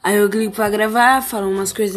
Aí eu clico pra gravar, falo umas coisas